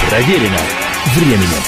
Проверено временем.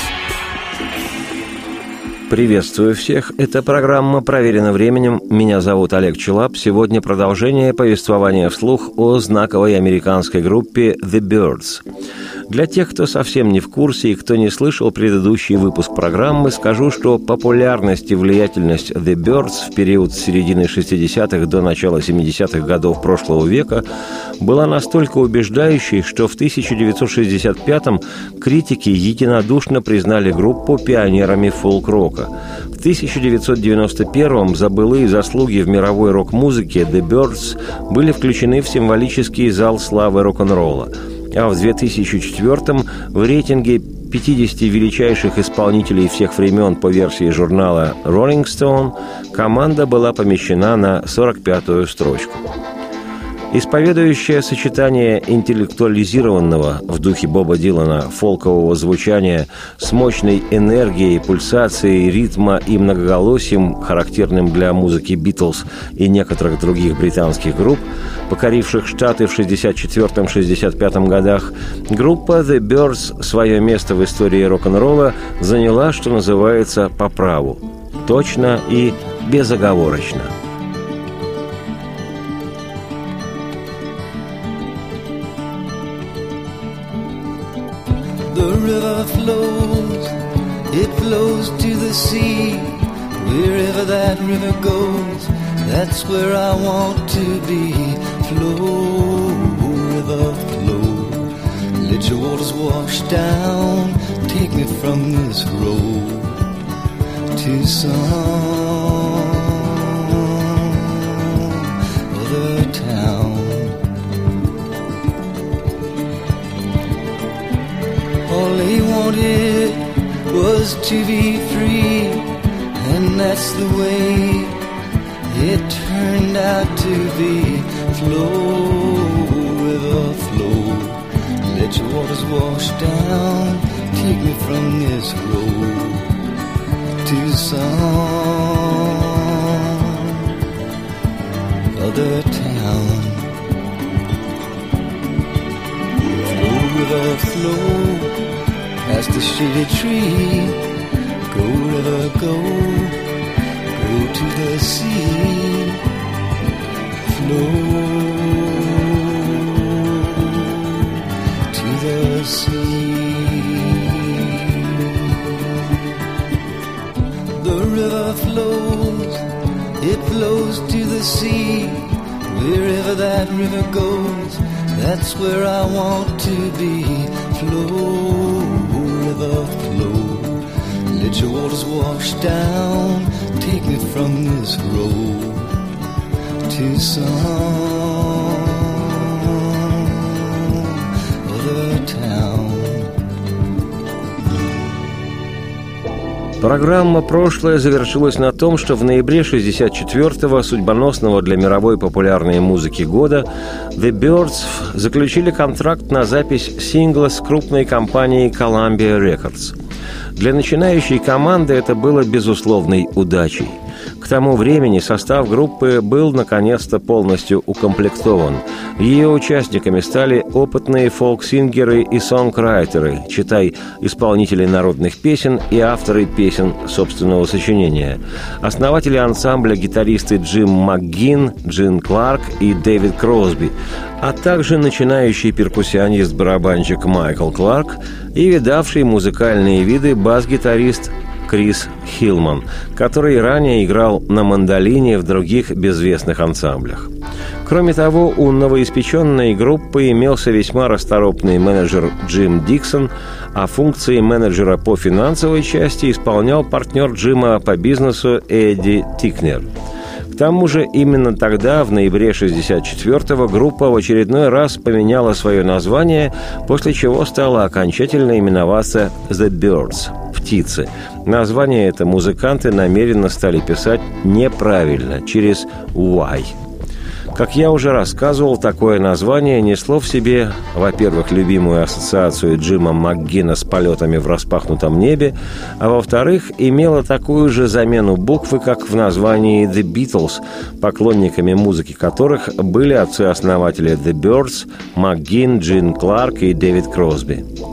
Приветствую всех. Это программа «Проверено временем». Меня зовут Олег Челап. Сегодня продолжение повествования вслух о знаковой американской группе The Byrds. Для тех, кто совсем не в курсе и кто не слышал предыдущий выпуск программы, скажу, что популярность и влиятельность The Byrds в период с середины 60-х до начала 70-х годов прошлого века была настолько убеждающей, что в 1965-м критики единодушно признали группу пионерами фолк-рока. В 1991-м за былые заслуги в мировой рок-музыке The Byrds были включены в символический зал славы рок-н-ролла. А в 2004-м в рейтинге 50 величайших исполнителей всех времен по версии журнала Rolling Stone команда была помещена на 45-ю строчку. Исповедующее сочетание интеллектуализированного в духе Боба Дилана фолкового звучания с мощной энергией, пульсацией, ритма и многоголосием, характерным для музыки Битлз и некоторых других британских групп, покоривших Штаты в 1964-1965 годах, группа The Byrds свое место в истории рок-н-ролла заняла, что называется, по праву. Точно и безоговорочно. It flows to the sea. Wherever that river goes, that's where I want to be. Flow, river, flow. Let your waters wash down. Take me from this road to some other town. All they wanted was to be free, and that's the way it turned out to be. Flow, river, flow. Let your waters wash down. Take me from this road to some other town. Flow, river, flow. Past the shady tree, go river, go to the sea, flow to the sea. The river flows, it flows to the sea. Wherever that river goes, that's where I want to be. Flow, river, flow. Let your waters wash down. Take me from this road to some other town. Программа «Прошлое» завершилась на том, что в ноябре 64-го, судьбоносного для мировой популярной музыки года, The Byrds заключили контракт на запись сингла с крупной компанией Columbia Records. Для начинающей команды это было безусловной удачей. К тому времени состав группы был наконец-то полностью укомплектован. Ее участниками стали опытные фолк-сингеры и сонграйтеры, читай, исполнители народных песен и авторы песен собственного сочинения. Основатели ансамбля гитаристы Джим МакГин, Джин Кларк и Дэвид Кросби, а также начинающий перкуссионист-барабанщик Майкл Кларк и видавший музыкальные виды бас-гитарист Крис Хилман, который ранее играл на мандолине в других безвестных ансамблях. Кроме того, у новоиспеченной группы имелся весьма расторопный менеджер Джим Диксон, а функции менеджера по финансовой части исполнял партнер Джима по бизнесу Эдди Тикнер. К тому же именно тогда, в ноябре 1964-го, группа в очередной раз поменяла свое название, после чего стала окончательно именоваться The Byrds – «Птицы». Название это музыканты намеренно стали писать неправильно, через «Y». Как я уже рассказывал, такое название несло в себе, во-первых, любимую ассоциацию Джима МакГина с полетами в распахнутом небе, а во-вторых, имело такую же замену буквы, как в названии The Beatles, поклонниками музыки которых были отцы-основатели The Byrds, МакГин, Джин Кларк и Дэвид Кросби.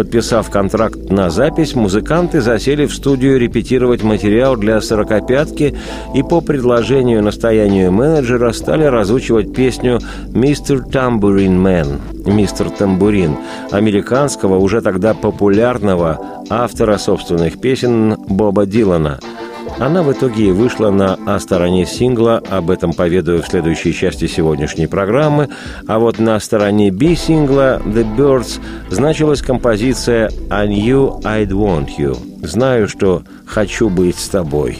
Подписав контракт на запись, музыканты засели в студию репетировать материал для «Сорокопятки» и по предложению и настоянию менеджера стали разучивать песню «Mr. Tambourine Man» – «Мистер Тамбурин» американского, уже тогда популярного автора собственных песен Боба Дилана. Она в итоге и вышла на А-стороне сингла, об этом поведаю в следующей части сегодняшней программы, а вот на стороне Б сингла «The Birds» значилась композиция «I knew I'd want you» – «Знаю, что хочу быть с тобой».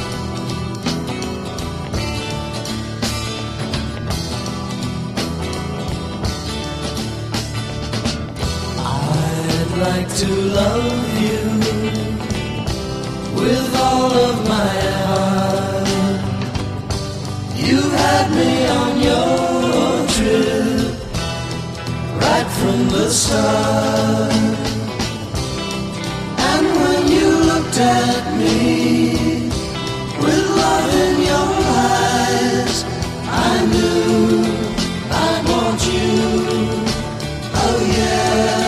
I'd like to love you with all of my heart. You had me on your trip right from the start. And when you looked at me with love in your eyes, I knew I'd want you. Oh yeah.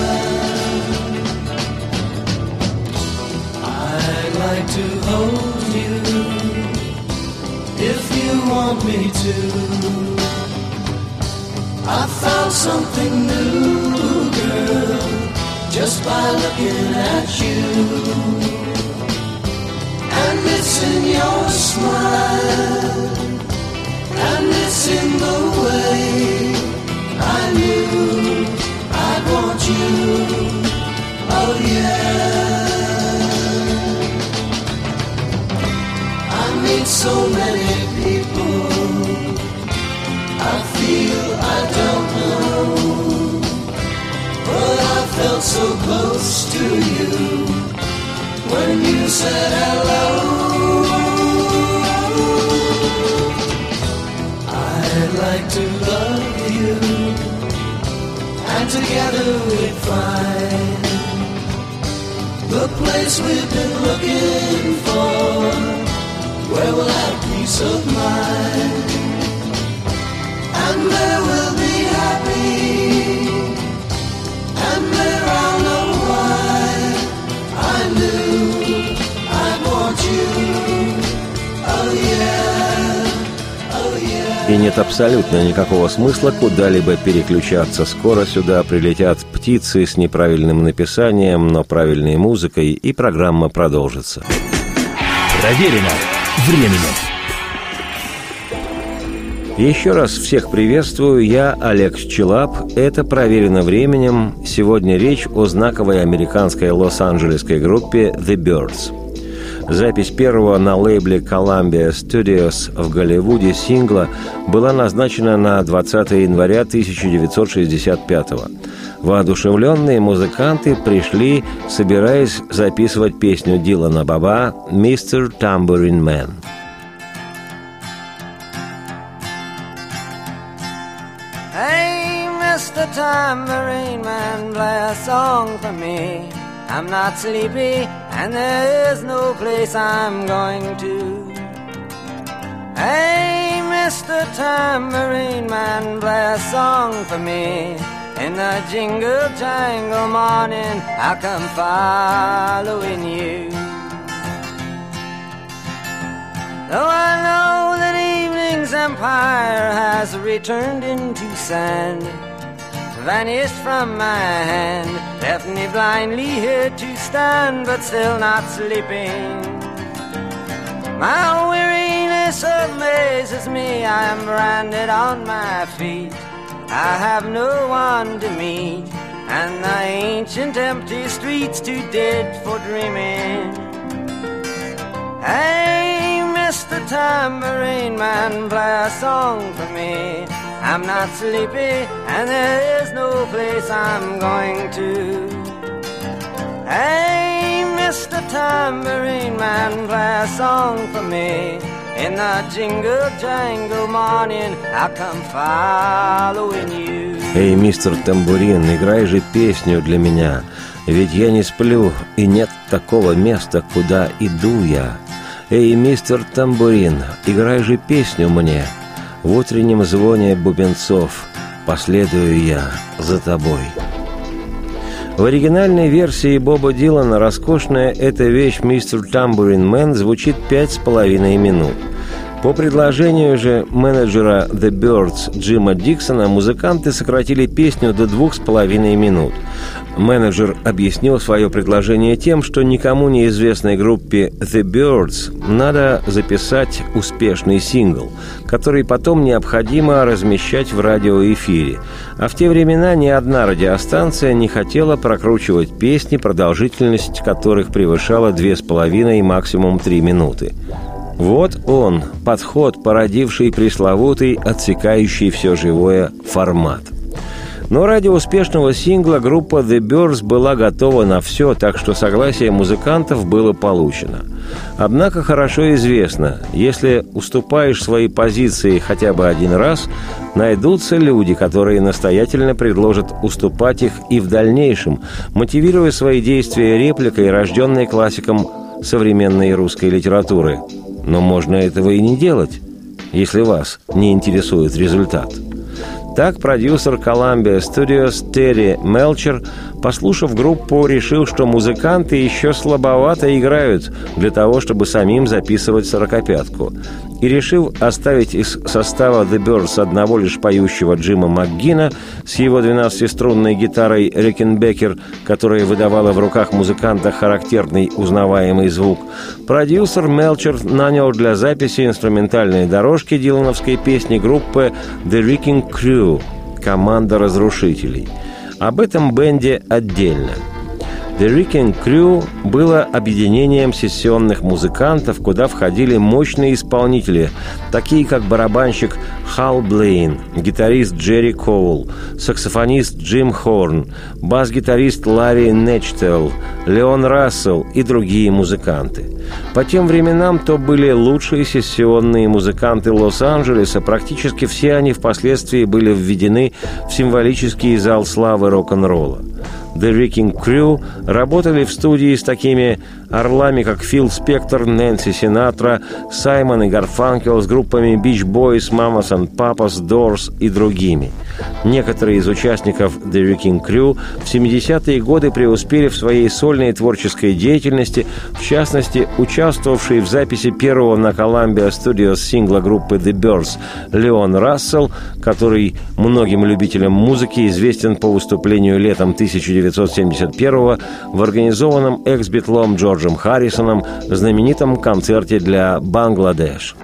To hold you if you want me to. I found something new, girl, just by looking at you. And it's in your smile, and it's in the way I knew I'd want you. Oh yeah. Meet so many people, I feel I don't know, but I felt so close to you when you said hello. I'd like to love you, and together we'd find the place we've been looking for, where we'll have peace of mind, and there we'll be happy, and there I'll know why I knew I'd want you. Oh yeah, oh yeah. И нет абсолютно никакого смысла куда-либо переключаться. Скоро сюда прилетят птицы с неправильным написанием, но правильной музыкой, и программа продолжится. Проверено временем. Еще раз всех приветствую, я Олег Челап. Это «Проверено временем». Сегодня речь о знаковой американской лос-анджелесской группе «The Birds». Запись первого на лейбле Columbia Studios в Голливуде сингла была назначена на 20 января 1965 года. Воодушевленные музыканты пришли, собираясь записывать песню Дилана Боба «Mr. Tambourine Man». Hey, Mr. Tambourine Man, play a song for me. I'm not sleepy, and there is no place I'm going to. Hey, Mr. Tambourine Man, play a song for me. In the jingle jangle morning, I'll come following you. Though I know that evening's empire has returned into sand, vanished from my hand, left me blindly here to stand, but still not sleeping. My weariness amazes me, I am branded on my feet. I have no one to meet, and the ancient empty streets too dead for dreaming. Hey, Mr. Tambourine Man, play a song for me. I'm not sleepy, and there is no place I'm going to. Hey, Mr. Tambourine Man, play a song for me. In the jingle jangle morning, I'll come following you. Эй, мистер Тамбурин, играй же песню для меня, ведь я не сплю, и нет такого места, куда иду я. Эй, мистер Тамбурин, играй же песню мне. В утреннем звоне бубенцов последую я за тобой. В оригинальной версии Боба Дилана роскошная эта вещь «Mr. Tambourine Man» звучит 5,5 минут. По предложению же менеджера The Byrds Джима Диксона музыканты сократили песню до 2,5 минут. Менеджер объяснил свое предложение тем, что никому неизвестной группе The Byrds надо записать успешный сингл, который потом необходимо размещать в радиоэфире. А в те времена ни одна радиостанция не хотела прокручивать песни, продолжительность которых превышала 2,5 и максимум 3 минуты. Вот он, подход, породивший пресловутый, отсекающий все живое формат. Но ради успешного сингла группа The Byrds была готова на все, так что согласие музыкантов было получено. Однако хорошо известно, если уступаешь свои позиции хотя бы один раз, найдутся люди, которые настоятельно предложат уступать их и в дальнейшем, мотивируя свои действия репликой, рожденной классиком современной русской литературы. Но можно этого и не делать, если вас не интересует результат. Так продюсер Columbia Studios Терри Мелчер, послушав группу, решил, что музыканты еще слабовато играют для того, чтобы самим записывать сорокопятку. И решил оставить из состава The Byrds одного лишь поющего Джима МакГинна с его 12-струнной гитарой Рикенбекер, которая выдавала в руках музыканта характерный узнаваемый звук. Продюсер Мелчер нанял для записи инструментальной дорожки дилановской песни группы The Wrecking Crew – «Команда разрушителей». Об этом бенде отдельно. The Wrecking Crew было объединением сессионных музыкантов, куда входили мощные исполнители, такие как барабанщик Хал Блейн, гитарист Джерри Коул, саксофонист Джим Хорн, бас-гитарист Ларри Нечтелл, Леон Рассел и другие музыканты. По тем временам то были лучшие сессионные музыканты Лос-Анджелеса, практически все они впоследствии были введены в символический зал славы рок-н-ролла. The Wrecking Crew работали в студии с такими орлами, как Фил Спектор, Нэнси Синатра, Саймон и Гарфанкел, с группами Beach Boys, Mamas and Papas, Doors и другими. Некоторые из участников The Wrecking Crew в 70-е годы преуспели в своей сольной творческой деятельности, в частности, участвовавший в записи первого на Columbia Studios сингла группы The Byrds Леон Рассел, который многим любителям музыки известен по выступлению летом 1971-го в организованном экс-битлом Джорджем Харрисоном знаменитом концерте для Бангладеш.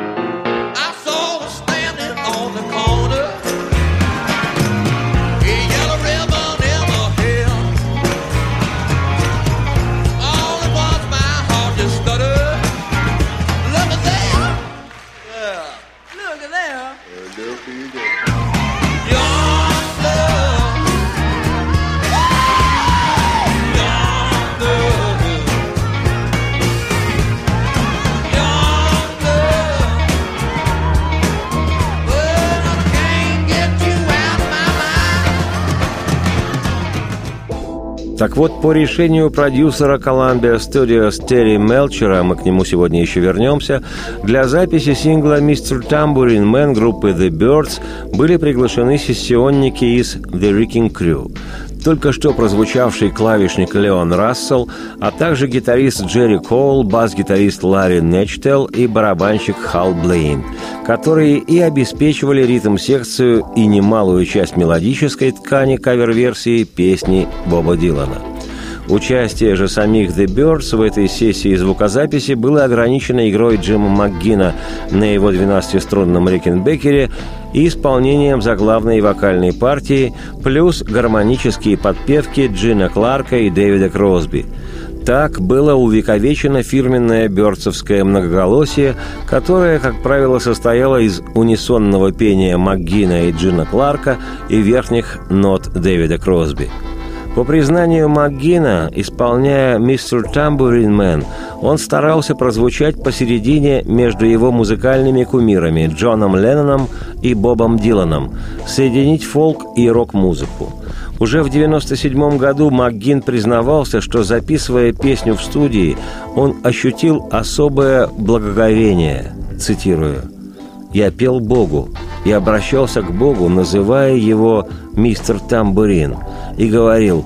Так вот, по решению продюсера Columbia Studios Терри Мелчера, мы к нему сегодня еще вернемся, для записи сингла «Mr. Tambourine Man» группы The Byrds были приглашены сессионники из The Wrecking Crew. Только что прозвучавший клавишник Леон Рассел, а также гитарист Джерри Коул, бас-гитарист Ларри Нечтелл и барабанщик Хал Блейн, которые и обеспечивали ритм-секцию и немалую часть мелодической ткани кавер-версии песни Боба Дилана. Участие же самих The Byrds в этой сессии звукозаписи было ограничено игрой Джима МакГинна на его 12-струнном Рикенбекере и исполнением заглавной вокальной партии, плюс гармонические подпевки Джина Кларка и Дэвида Кросби. Так было увековечено фирменное бёрдсовское многоголосие, которое, как правило, состояло из унисонного пения МакГинна и Джина Кларка и верхних нот Дэвида Кросби. По признанию МакГинна, исполняя «Mr. Tambourine Man», он старался прозвучать посередине между его музыкальными кумирами Джоном Ленноном и Бобом Диланом, соединить фолк и рок-музыку. Уже в 1997 году МакГинн признавался, что, записывая песню в студии, он ощутил особое благоговение, цитирую, «Я пел Богу и обращался к Богу, называя его «Мистер Тамбурин», и говорил: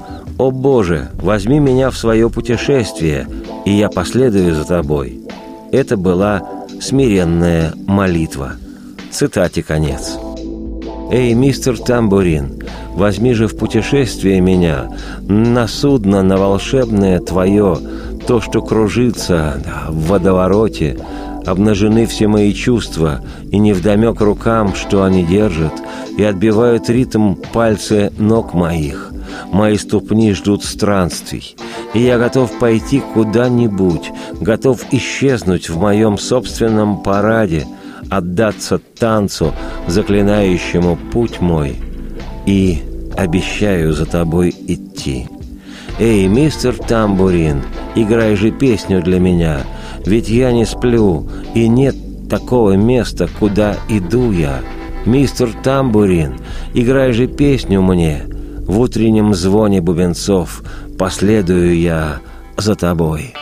«О Боже, возьми меня в свое путешествие, и я последую за тобой». Это была смиренная молитва. Цитате конец. «Эй, мистер Тамбурин, возьми же в путешествие меня, на судно, на волшебное твое, то, что кружится в водовороте, обнажены все мои чувства, и невдомек рукам, что они держат, и отбивают ритм пальцы ног моих. Мои ступни ждут странствий, и я готов пойти куда-нибудь, готов исчезнуть в моем собственном параде, отдаться танцу, заклинающему путь мой, и обещаю за тобой идти. Эй, мистер Тамбурин, играй же песню для меня, ведь я не сплю, и нет такого места, куда иду я. Мистер Тамбурин, играй же песню мне, в утреннем звоне бубенцов последую я за тобой».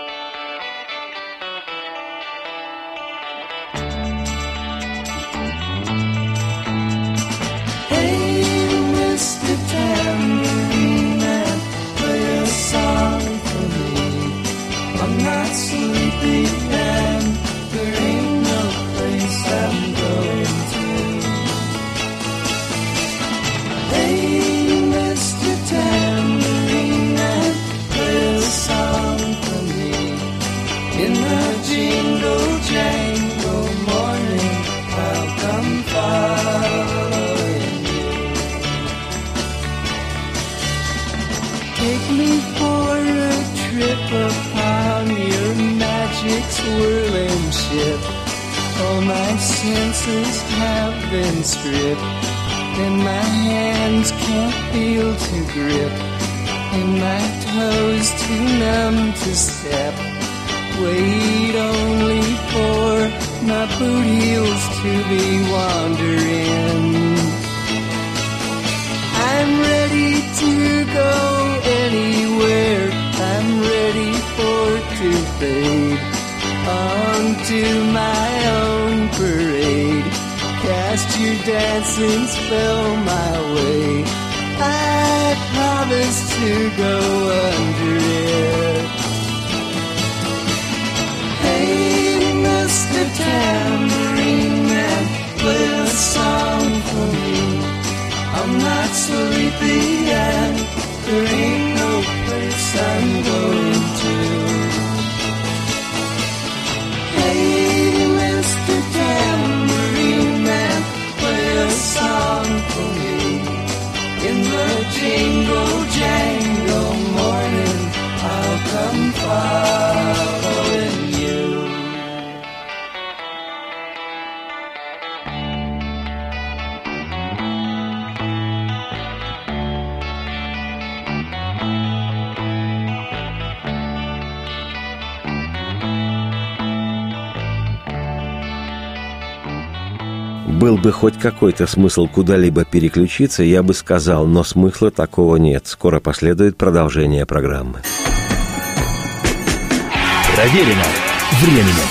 Swirling ship, all my senses have been stripped, and my hands can't feel to grip, and my toes too numb to step. Wait only for my boot heels to be wandering. I'm ready to go anywhere, I'm ready for to fade onto my own parade. Cast your dancing spell my way, I promise to go under it. Hey, Mr. Tambourine Man, play a song for me. I'm not sleepy and there ain't no place I'm going to. Hey, Mr. Tambourine Man, play a song for me. In the jingle jangle morning, I'll come following you. Был бы хоть какой-то смысл куда-либо переключиться, я бы сказал, но смысла такого нет. Скоро последует продолжение программы. Проверено временем.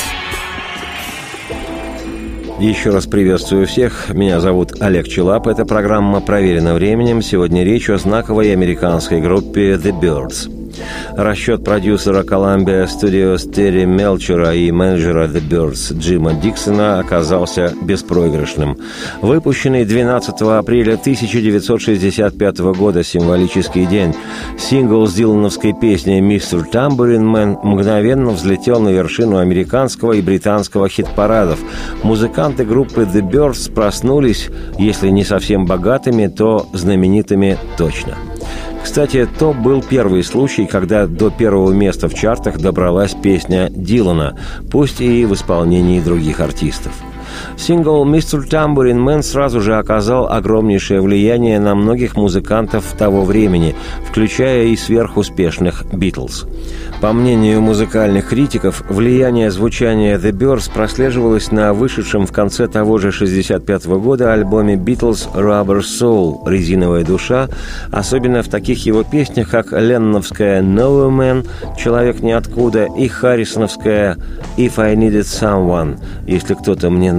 Еще раз приветствую всех. Меня зовут Олег Челап. Эта программа «Проверено временем». Сегодня речь о знаковой американской группе The Byrds. Расчет продюсера Columbia Studios Терри Мелчера и менеджера The Byrds Джима Диксона оказался беспроигрышным. Выпущенный 12 апреля 1965 года, символический день, сингл с дилановской песней «Мистер Тамбурин Мэн» мгновенно взлетел на вершину американского и британского хит-парадов. Музыканты группы The Byrds проснулись, если не совсем богатыми, то знаменитыми точно. Кстати, то был первый случай, когда до первого места в чартах добралась песня Дилана, пусть и в исполнении других артистов. Сингл «Mr. Tambourine Man» сразу же оказал огромнейшее влияние на многих музыкантов того времени, включая и сверхуспешных «Битлз». По мнению музыкальных критиков, влияние звучания The Byrds прослеживалось на вышедшем в конце того же 1965 года альбоме «Битлз» «Rubber Soul» «Резиновая душа», особенно в таких его песнях, как ленноновская «No Man» «Человек ниоткуда» и харрисоновская «If I Needed Someone» «Если кто-то мне нужен».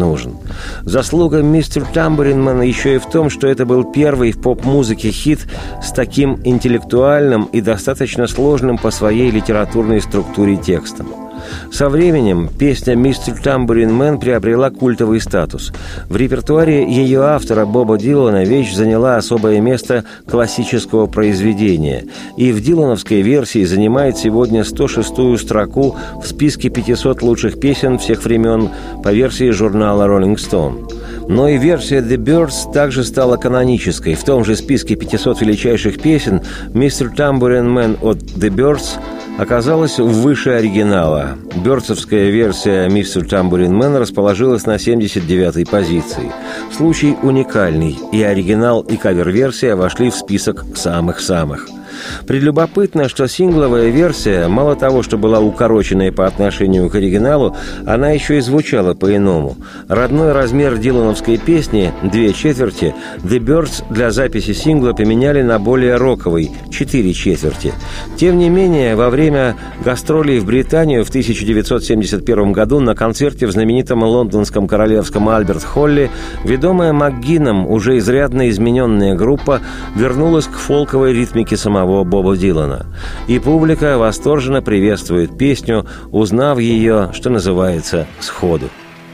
нужен. Заслуга «Мистер Тамбурин-мен» еще и в том, что это был первый в поп-музыке хит с таким интеллектуальным и достаточно сложным по своей литературной структуре текстом. Со временем песня «Мистер Тамбурин-мен» приобрела культовый статус. В репертуаре ее автора Боба Дилана вещь заняла особое место классического произведения и в дилановской версии занимает сегодня 106-ю строку в списке 500 лучших песен всех времен по версии журнала Rolling Stone. Но и версия The Byrds также стала канонической. В том же списке 500 величайших песен «Мистер Тамбурин-мен» от The Byrds оказалась выше оригинала. Бёрдсовская версия «Мистер Тамбурин-мен» расположилась на 79-й позиции. Случай уникальный. И оригинал, и кавер-версия вошли в список самых-самых. Прелюбопытно, что сингловая версия, мало того, что была укороченной по отношению к оригиналу, она еще и звучала по-иному. Родной размер дилановской песни, 2/4, The Byrds для записи сингла поменяли на более роковый, 4/4. Тем не менее, во время гастролей в Британию в 1971 году на концерте в знаменитом лондонском королевском Альберт-Холле ведомая МакГинном, уже изрядно измененная группа, вернулась к фолковой ритмике самого Боба Дилана. И публика восторженно приветствует песню, узнав ее, что называется, сходу.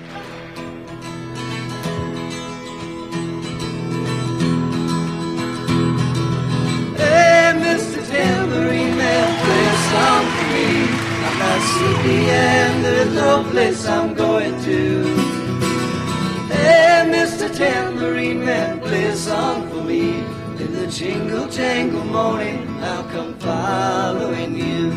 Jingle, jangle morning, I'll come following you.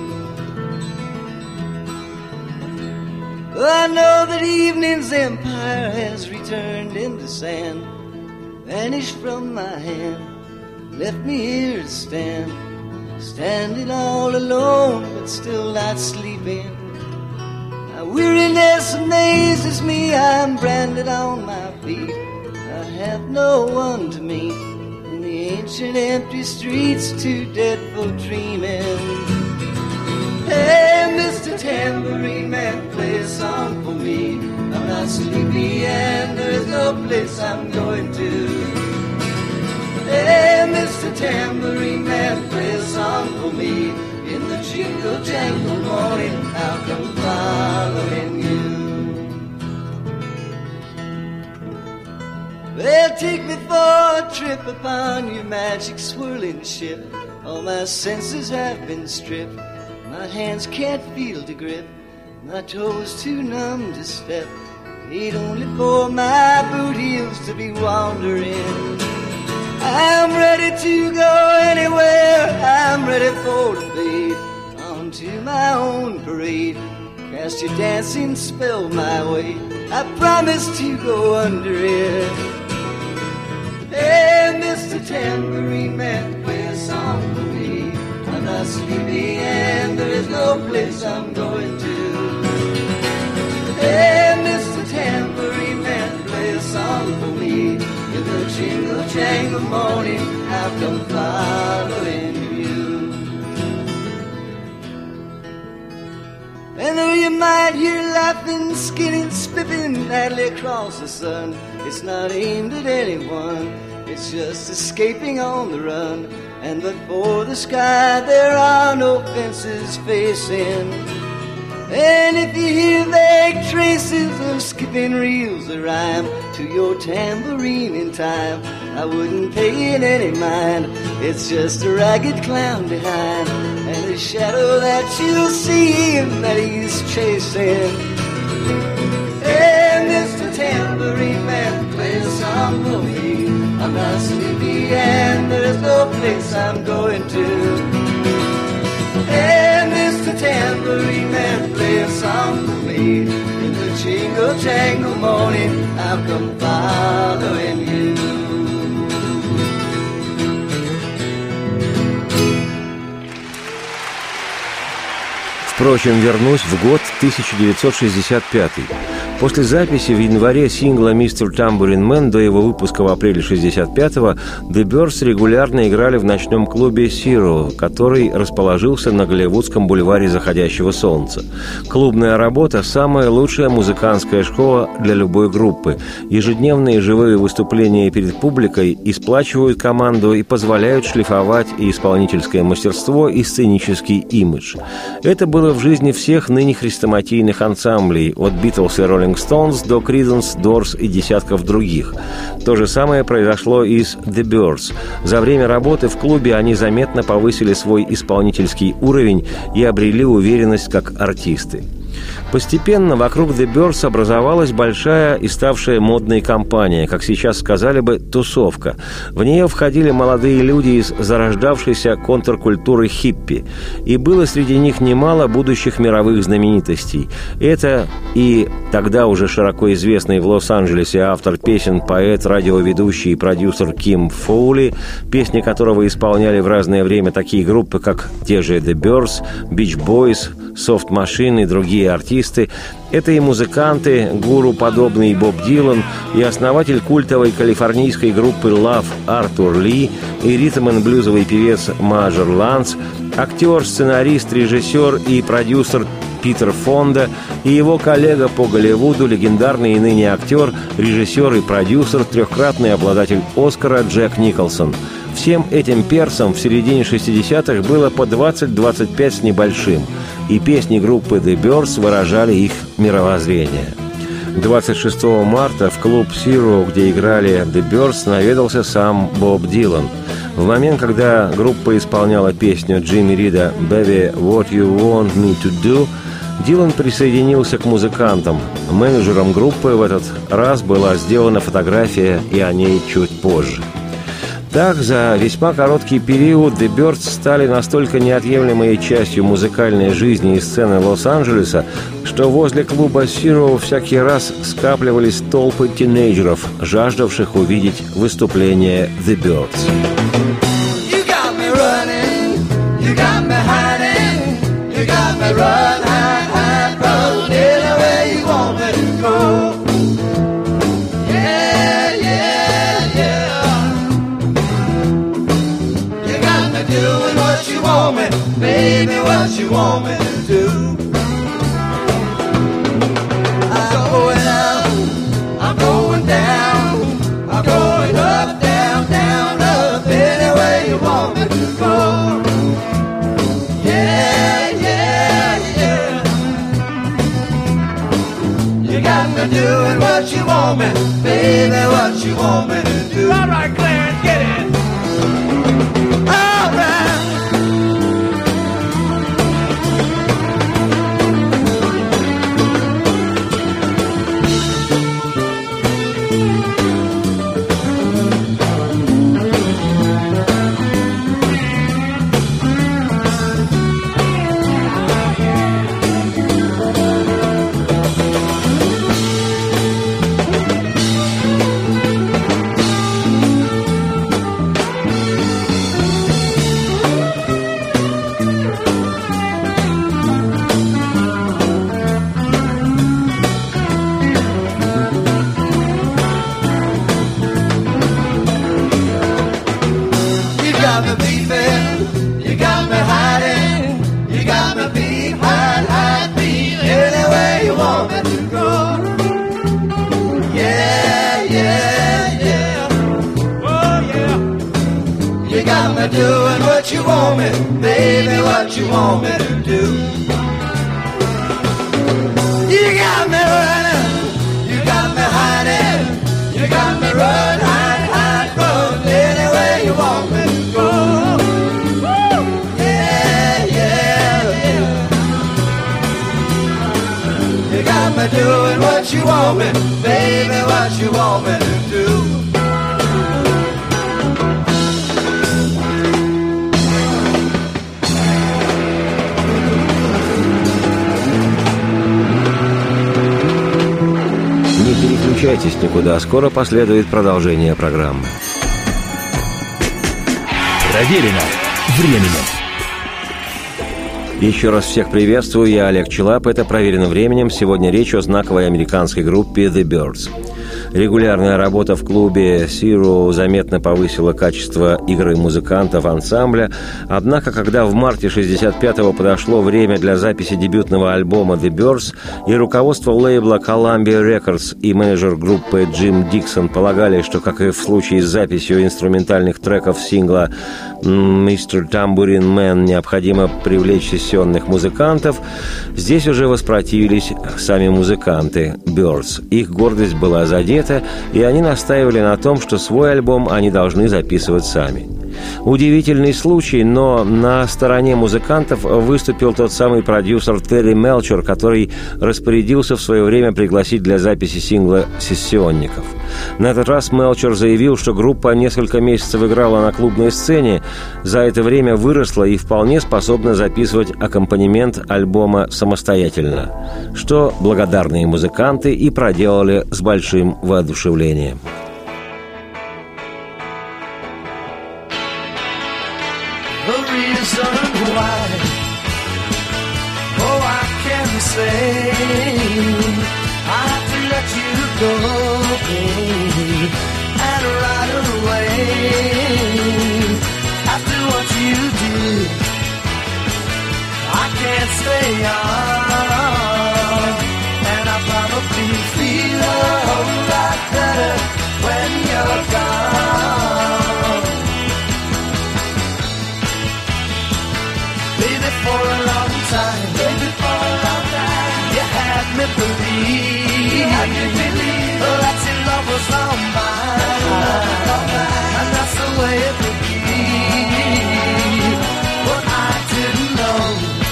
I know that evening's empire has returned into sand, vanished from my hand, left me here to stand, standing all alone, but still not sleeping. My weariness amazes me, I'm branded on my feet, I have no one to meet. Ancient empty streets too dead for dreaming. Hey, Mr. Tambourine Man, play a song for me. I'm not sleepy and there's no place I'm going to. Hey, Mr. Tambourine Man, play a song for me. In the jingle jangle morning, I'll come following you. Well, take me for a trip upon your magic swirling ship. All my senses have been stripped. My hands can't feel the grip. My toes too numb to step. Need only for my boot heels to be wandering. I'm ready to go anywhere. I'm ready for the fade. On to my own parade. Cast your dancing spell my way. I promise to go under it. Hey, Mr. Tambourine Man, play a song for me. I'm not sleepy and there is no place I'm going to. Hey, Mr. Tambourine Man, play a song for me. In the jingle jangle morning, I'll come following you. And though you might hear laughing, skinning, spiffing madly across the sun, it's not aimed at anyone, it's just escaping on the run. And but for the sky there are no fences facing. And if you hear vague traces of skipping reels that rhyme to your tambourine in time, I wouldn't pay it any mind. It's just a ragged clown behind, and the shadow that you'll see him that he's chasing. Hey, Mr. Tambourine Man, play a song for me. I'm not sleepy and there's no place I'm going to. Hey, Mr. Tambourine Man, play a song for me. In the jingle jangle morning, I'll come following you. Впрочем, вернусь в год 1965. После записи в январе сингла «Mr. Tambourine Man» до его выпуска в апреле 1965-го The Byrds регулярно играли в ночном клубе «Zero», который расположился на Голливудском бульваре заходящего солнца. Клубная работа – самая лучшая музыкантская школа для любой группы. Ежедневные живые выступления перед публикой исплачивают команду и позволяют шлифовать и исполнительское мастерство, и сценический имидж. Это было в жизни всех ныне хрестоматийных ансамблей, от «Битлз» и «Роллинг Stones до Creedence, Doors и десятков других. То же самое произошло и с The Byrds. За время работы в клубе они заметно повысили свой исполнительский уровень и обрели уверенность как артисты. Постепенно вокруг The Byrds образовалась большая и ставшая модной компания, как сейчас сказали бы, тусовка. В нее входили молодые люди из зарождавшейся контркультуры хиппи. И было среди них немало будущих мировых знаменитостей. Это и тогда уже широко известный в Лос-Анджелесе автор песен, поэт, радиоведущий и продюсер Ким Фоули, песни которого исполняли в разное время такие группы, как те же The Byrds, Beach Boys, Soft Machine и другие артисты. Это и музыканты, гуру подобный Боб Дилан, и основатель культовой калифорнийской группы Love Артур Ли, и ритм-н-блюзовый певец Мажор Ланс, актер, сценарист, режиссер и продюсер Питер Фонда и его коллега по Голливуду, легендарный и ныне актер, режиссер и продюсер, трехкратный обладатель Оскара Джек Николсон. Всем этим персам в середине 60-х было по 20-25 с небольшим, и песни группы The Byrds выражали их мировоззрение. 26 марта в клуб Zero, где играли The Byrds, наведался сам Боб Дилан. В момент, когда группа исполняла песню Джимми Рида «Baby, what you want me to do», Дилан присоединился к музыкантам. Менеджером группы в этот раз была сделана фотография, и о ней чуть позже. Так, за весьма короткий период The Byrds стали настолько неотъемлемой частью музыкальной жизни и сцены Лос-Анджелеса, что возле клуба Zero всякий раз скапливались толпы тинейджеров, жаждавших увидеть выступление The Byrds. You got me running, you got me hiding, you got me run, hide, run, anywhere you want me to go. Doing what you want me, baby, what you want me to do. I'm going up, I'm going down, I'm going up, down, down, up, anywhere you want me to go. Yeah, yeah, yeah. You got me doing what you want me, baby, what you want me to do. All right, Clarence, get it. Doing what you want me, baby, what you want me to do. You got me running, you got me hiding, you got me run, hide, run, anywhere you want me to go. Yeah, yeah, yeah. You got me doing what you want me, baby, what you want me to do. Не переключайтесь никуда, скоро последует продолжение программы. Проверено временем. Еще раз всех приветствую, я Олег Челап, это «Проверено временем». Сегодня речь о знаковой американской группе The Byrds. Регулярная работа в клубе Zero заметно повысила качество игры музыкантов ансамбля, однако, когда в марте 1965-го подошло время для записи дебютного альбома The Byrds, и руководство лейбла Columbia Records и менеджер группы Джим Диксон полагали, что, как и в случае с записью инструментальных треков сингла «Mr. Tambourine Man» необходимо привлечь сессионных музыкантов, здесь уже воспротивились сами музыканты Byrds. Их гордость была задета, и они настаивали на том, что свой альбом они должны записывать сами. Удивительный случай, но на стороне музыкантов выступил тот самый продюсер Терри Мелчер, который распорядился в свое время пригласить для записи сингла сессионников. На этот раз Мелчер заявил, что группа несколько месяцев играла на клубной сцене, за это время выросла и вполне способна записывать аккомпанемент альбома самостоятельно, что благодарные музыканты и проделали с большим воодушевлением. The reason why, oh, I can say I have to let you go, and right away, after what you did, I can't stay on, and I probably feel a whole lot better when you're gone. Baby, for a long time, you had me believe, that your love was all mine, and that's the way it would be. But I didn't know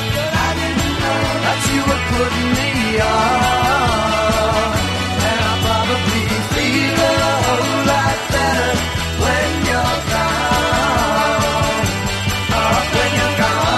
that you were putting me on, and I probably feel a whole lot better when you're gone, when you're gone.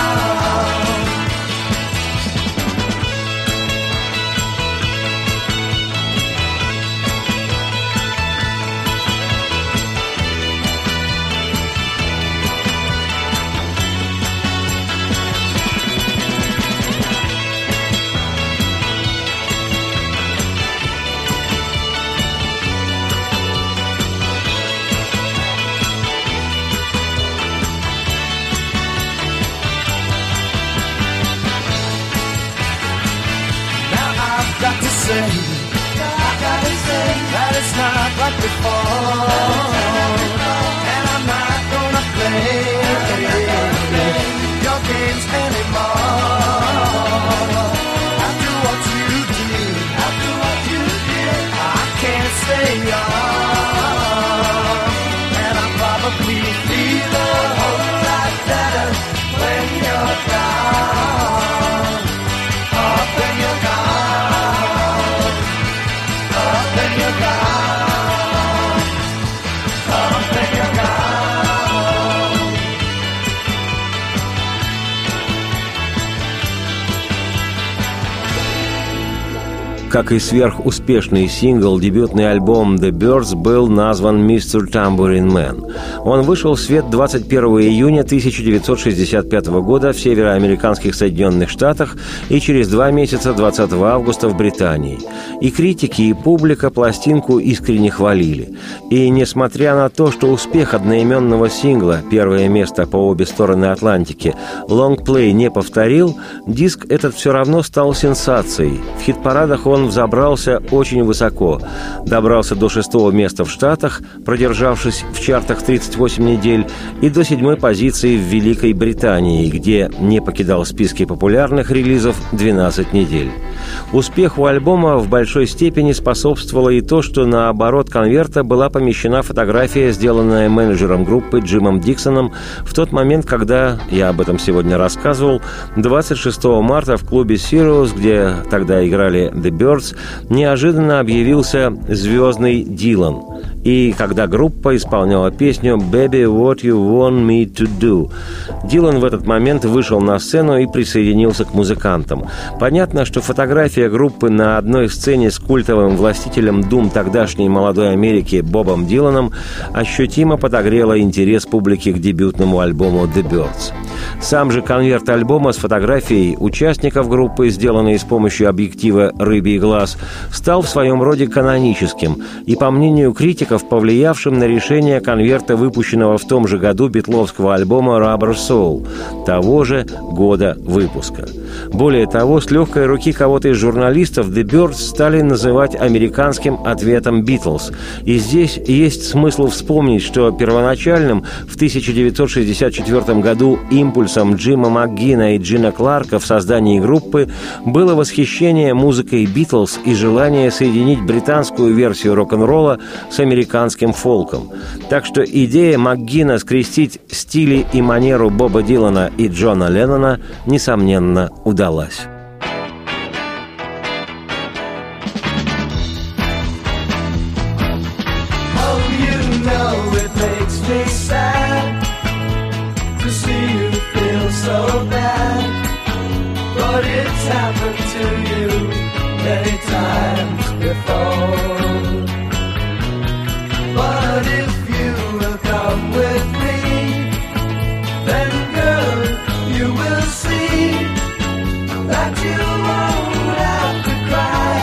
I gotta say that it's not like before, and I'm not gonna play your games anymore. After what you did, I can't stay on, and I probably feel a whole lot better when you're gone, when you're gone. Как и сверхуспешный сингл, дебютный альбом The Byrds был назван «Mr. Tambourine Man». Он вышел в свет 21 июня 1965 года в североамериканских Соединенных Штатах и через 2 месяца 20 августа в Британии. И критики, и публика пластинку искренне хвалили. И несмотря на то, что успех одноименного сингла, первое место по обе стороны Атлантики, лонгплей не повторил, диск этот все равно стал сенсацией. В хит-парадах он взобрался очень высоко. Добрался до 6-го места в Штатах, продержавшись в чартах 38 недель, и до 7-й позиции в Великой Британии, где не покидал списки популярных релизов 12 недель. Успеху альбома в большой степени способствовало и то, что на оборот конверта была помещена фотография, сделанная менеджером группы Джимом Диксоном в тот момент, когда, я об этом сегодня рассказывал, 26 марта в клубе Sirius, где тогда играли The Byrds, неожиданно объявился звездный Дилан. И когда группа исполняла песню «Baby, what you want me to do», Дилан в этот момент вышел на сцену и присоединился к музыкантам. Понятно, что фотография группы на одной сцене с культовым властителем дум тогдашней молодой Америки Бобом Диланом ощутимо подогрела интерес публики к дебютному альбому «The Byrds». Сам же конверт альбома с фотографией участников группы, сделанной с помощью объектива «Рыбий глаз», стал в своем роде каноническим и, по мнению критиков, повлиявшим на решение конверта, выпущенного в том же году битловского альбома «Rubber Soul», того же года выпуска. Более того, с легкой руки кого-то из журналистов The Byrds стали называть американским ответом «Битлз». И здесь есть смысл вспомнить, что первоначальным в 1964 году импульсом Джима МакГинна и Джина Кларка в создании группы было восхищение музыкой «Битлз» и желание соединить британскую версию рок-н-ролла с американским фолком. Так что идея МакГинна скрестить стили и манеру Боба Дилана и Джона Леннона, несомненно, удалась. So bad, but it's happened to you many times before. But if you will come with me, then girl, you will see that you won't have to cry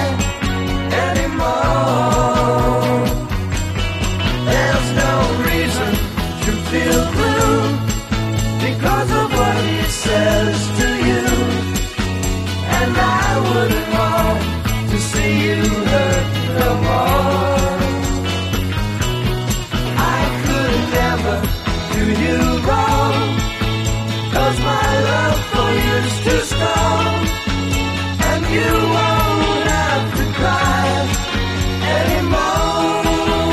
anymore. There's no reason to feel blue because of what he says to you, and I wouldn't want to see you hurt no more. I could never do you wrong, 'cause my love for you's too strong, and you won't have to cry anymore.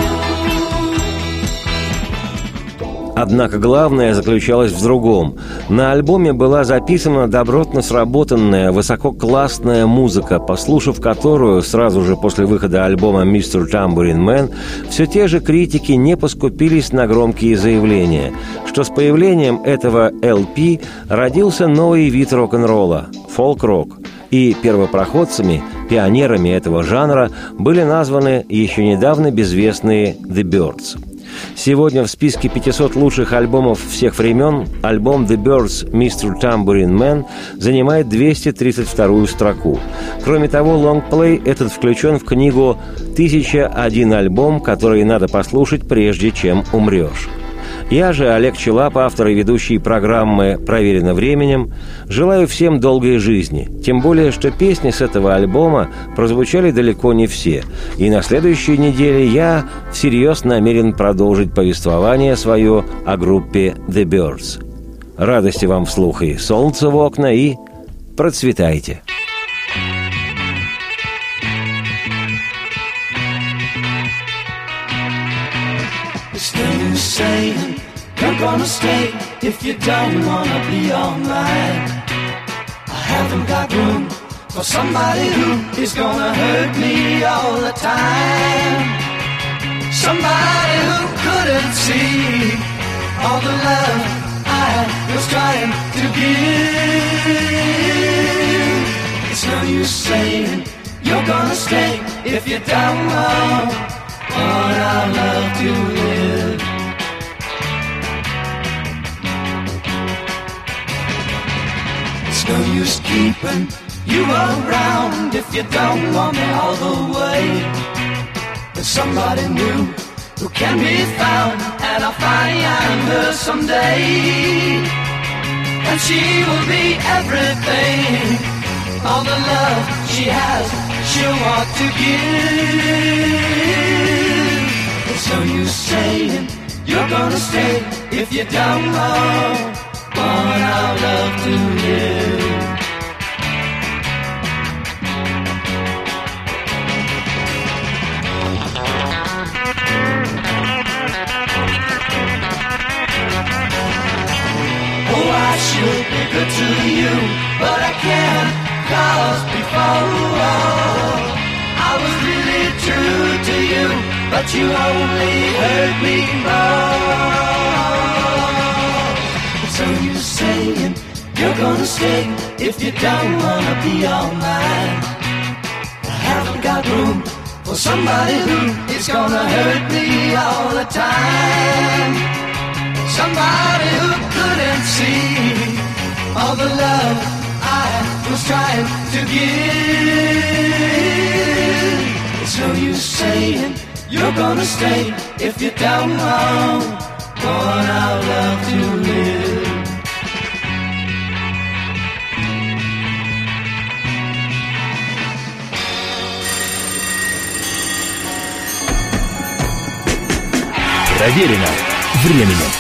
Однако главное заключалось в другом. На альбоме была записана добротно сработанная, высококлассная музыка, послушав которую сразу же после выхода альбома «Mr. Tambourine Man» все те же критики не поскупились на громкие заявления, что с появлением этого LP родился новый вид рок-н-ролла – фолк-рок. И первопроходцами, пионерами этого жанра были названы еще недавно безвестные The Byrds. Сегодня в списке 500 лучших альбомов всех времен альбом The Byrds «Mr. Tambourine Man» занимает 232-ю строку. Кроме того, лонгплей этот включен в книгу «1001 альбом, который надо послушать, прежде чем умрешь». Я же, Олег Челап, автор и ведущий программы «Проверено временем», желаю всем долгой жизни. Тем более, что песни с этого альбома прозвучали далеко не все. И на следующей неделе я всерьез намерен продолжить повествование свое о группе The Byrds. Радости вам вслух и солнца в окна, и процветайте! Saying you're gonna stay if you don't wanna be all mine. I haven't got room for somebody who is gonna hurt me all the time. Somebody who couldn't see all the love I was trying to give. It's no use saying you're gonna stay if you don't want our love to live. It's no use keeping you around if you don't want me all the way. There's somebody new who can be found, and I'll find her someday. And she will be everything, all the love she has, she'll want to give. It's no use saying you're gonna stay if you don't want our love to live. Oh, I should be good to you, but I can't, 'cause before I was really true to you, but you only hurt me more. So you saying you're gonna stay if you don't wanna be all mine. I haven't got room for somebody who is gonna hurt me all the time. Somebody who couldn't see all the love I was trying to give. So you say you're gonna stay if you're down wrong, going out love to live. Проверено временем.